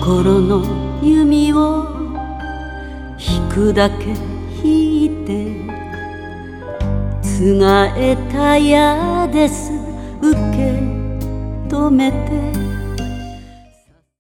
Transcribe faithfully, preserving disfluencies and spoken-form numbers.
心の弓を引くだけ引いてつがえた矢です受け止めて